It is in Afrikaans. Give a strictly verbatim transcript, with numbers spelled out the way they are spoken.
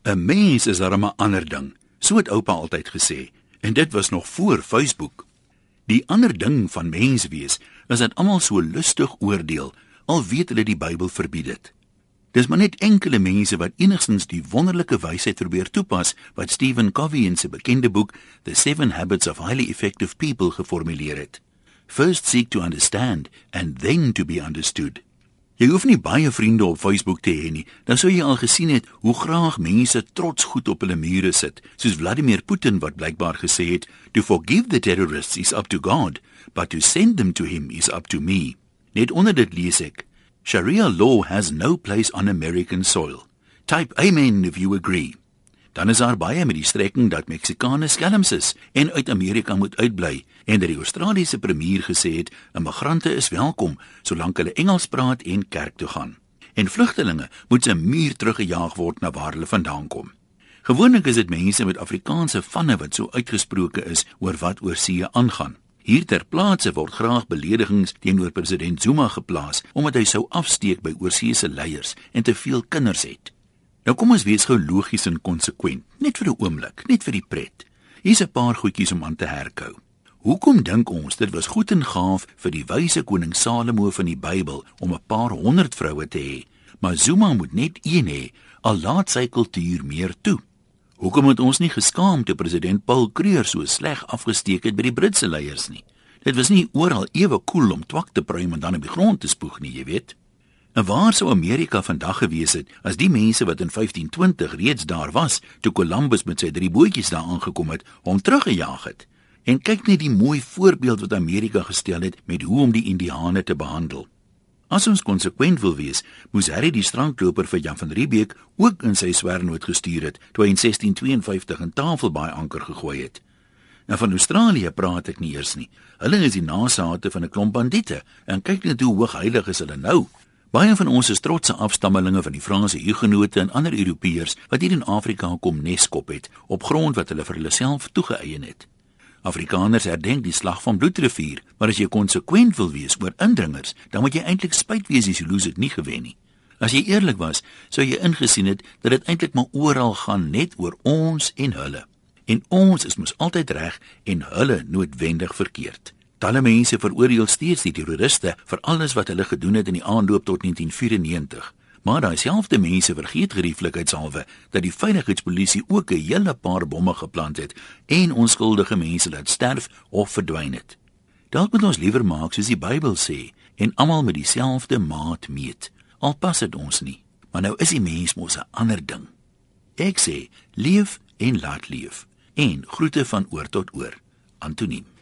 'n Mens is darem 'n ander ding, so het oupa altyd gesê, en dit was nog voor Facebook. Die ander ding van mens wees, is dat almal so lustig oordeel, al weet hulle die Bybel verbied dit. Dis maar net enkele mense wat enigstens die wonderlike wysheid probeer toepas, wat Stephen Covey in sy bekende boek The Seven Habits of Highly Effective People geformuleer het. First seek to understand, and then to be understood. Jy hoef nie baie vriende op Facebook te hê nie, dan sou jy al gesien het hoe graag mense trots goed op hulle mure sit, soos Vladimir Putin wat blykbaar gesê het, to forgive the terrorists is up to God, but to send them to him is up to me. Net onder dit lees ek, Sharia law has no place on American soil. Type amen if you agree. Dan is daar baie met die strekking dat Meksikane skelms is en uit Amerika moet uitbly, en dat die Australiese premier gesê het, immigrante is welkom, solank hulle Engels praat en kerk toe gaan. En vlugtelinge moet se muur teruggejaag word na waar hulle vandaan kom. Gewoonlik is dit mense met Afrikaanse vanne wat so uitgesproke is oor wat oor see aangaan. Hier ter plaatse word graag beledigings teenoor president Zuma geplaas, omdat hy sou afsteek by oorseese leiers en te veel kinders het. Nou kom ons wees gou logies en konsekwent, net vir 'n oomblik, net vir die pret. Hier's 'n paar goedjies om aan te herkou. Hoekom dink ons dit was goed en gaaf vir die wyse koning Salomo van die Bybel om 'n paar honderd vroue te hê, maar Zuma moet net een hê, al laat sy kultuur meer toe? Hoekom het ons nie geskaam toe president Paul Kruger so sleg afgesteek het by die Britse leiers nie? Dit was nie oral ewe koel om twak te pruim en dan op die grond te spoeg nie, jy weet. En waar sou Amerika vandag gewees het, as die mense wat in vyftien twintig reeds daar was, toe Columbus met sy drie bootjies daar aangekom het, hom teruggejaag het? En kyk net die mooi voorbeeld wat Amerika gestel het met hoe om die Indiane te behandel. As ons konsekwent wil wees, moes Harry die strandloper vir Jan van Riebeeck ook in sy swernoot gestuur het, toe hy in sestien tweeënvyftig in Tafelbaai anker gegooi het. En van Australië praat ek nie eers nie. Hulle is die nasate van 'n klomp bandiete, en kyk net hoe hoogheilig is hulle nou. Baie van ons is trotse afstammelinge van die Franse Hugenote en ander Europeërs wat hier in Afrika kom neskop het, op grond wat hulle vir hulle self toegeëien het. Afrikaners herdenk die slag van Bloedrivier, maar as jy konsekwent wil wees oor indringers, dan moet jy eintlik spyt wees as die Zulu's het nie gewen nie. As jy eerlik was, sou jy ingesien het dat dit eintlik maar oral gaan net oor ons en hulle. En ons is mos altyd reg en hulle noodwendig verkeerd. Talle mense veroordeel steeds die terroriste vir alles wat hulle gedoen het in die aanloop tot negentien vyfennegentig. Maar daai selfde mense vergeet gerieflikheidshalwe dat die veiligheidspolisie ook 'n hele paar bomme geplant het en onskuldige mense laat sterf of verdwyn het. Dalk moet ons liewer maak soos die Bybel sê en almal met dieselfde maat meet. Al pas dit ons nie, maar nou is die mens mos 'n ander ding. Ek sê, leef en laat leef. En groete van oor tot oor. Antoniem.